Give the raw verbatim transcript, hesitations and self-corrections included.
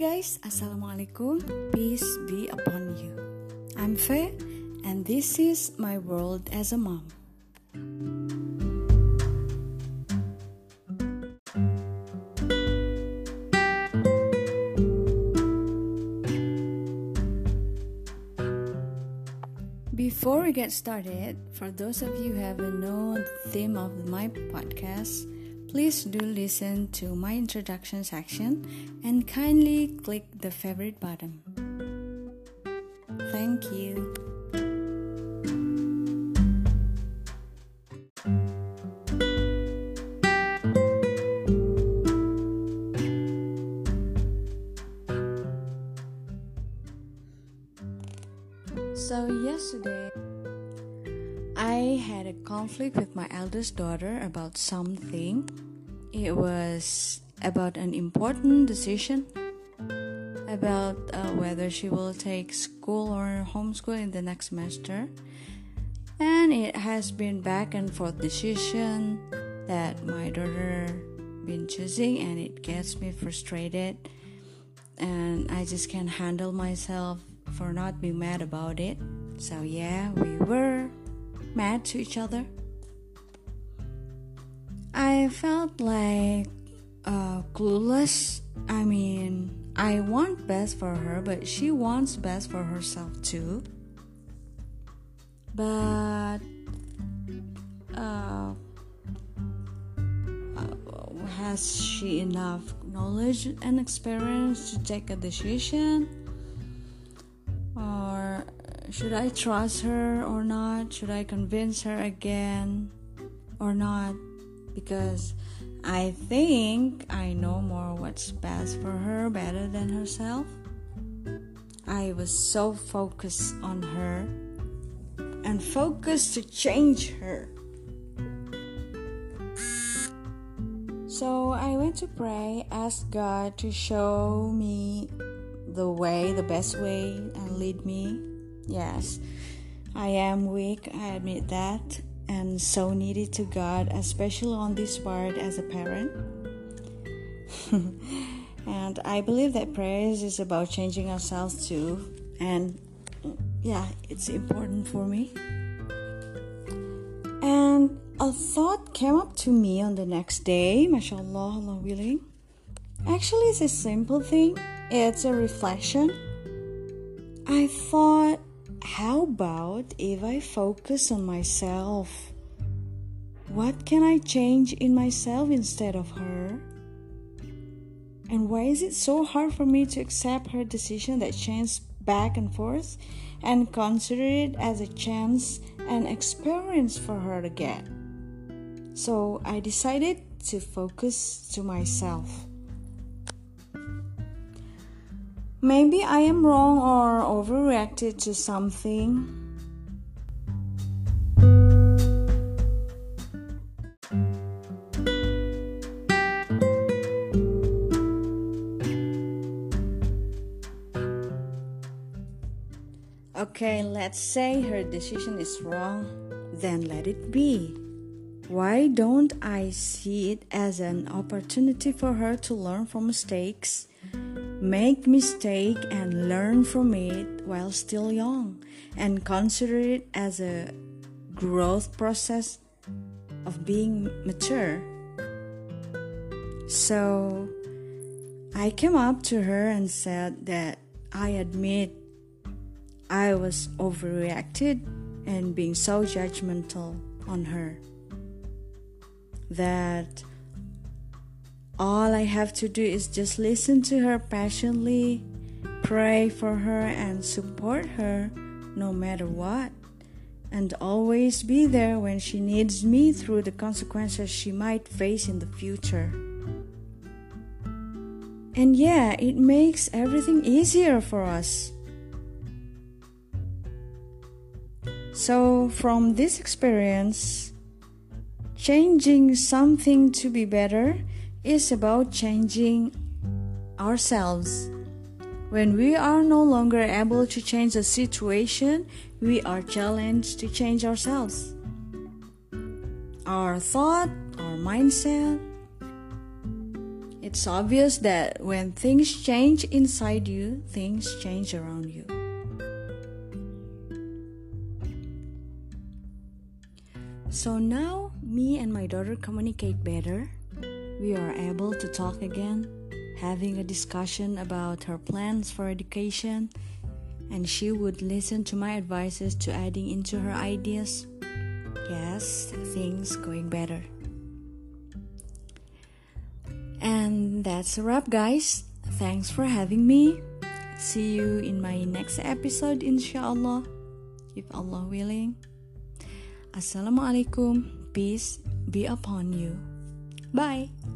guys, Assalamualaikum, peace be upon you. I'm Faye, and this is my world as a mom. Before we get started, for those of you who haven't known the theme of my podcast, please do listen to my introduction section and kindly click the favorite button. Thank you. So yesterday, I had a conflict with my eldest daughter about something. It was about an important decision about uh, whether she will take school or homeschool in the next semester. And it has been back and forth decision that my daughter been choosing, and it gets me frustrated. And I just can't handle myself for not being mad about it. So yeah, we were mad to each other. I felt like uh, clueless. I mean, I want best for her, but she wants best for herself too. But uh, uh, has she enough knowledge and experience to take a decision? Or should I trust her or not? Should I convince her again or not? Because I think I know more what's best for her better than herself. I was so focused on her and focused to change her. So I went to pray, asked God to show me the way, the best way, and lead me. Yes, I am weak, I admit that, and so needed to God, especially on this part as a parent. And I believe that prayer is about changing ourselves too, and yeah, it's important for me. And a thought came up to me on the next day, mashallah, Allah willing. Actually, it's a simple thing. It's a reflection. I thought, how about if I focus on myself? What can I change in myself instead of her? And why is it so hard for me to accept her decision that changes back and forth and consider it as a chance and experience for her to get? So I decided to focus to myself. Maybe I am wrong or overreacted to something. Okay, let's say her decision is wrong, then let it be. Why don't I see it as an opportunity for her to learn from mistakes? Make mistake and learn from it while still young, and consider it as a growth process of being mature. So I came up to her and said that I admit I was overreacted and being so judgmental on her, that all I have to do is just listen to her passionately, pray for her and support her no matter what, and always be there when she needs me through the consequences she might face in the future. And yeah, it makes everything easier for us. So from this experience, changing something to be better is about changing ourselves. When we are no longer able to change the situation, we are challenged to change ourselves. Our thought, our mindset, It's obvious that when things change inside you, things change around you. So now, me and my daughter communicate better. We are able to talk again, having a discussion about her plans for education, and she would listen to my advices to adding into her ideas. Yes, things going better. And that's a wrap, guys. Thanks for having me. See you in my next episode, inshallah, if Allah willing. Assalamualaikum. Peace be upon you. Bye.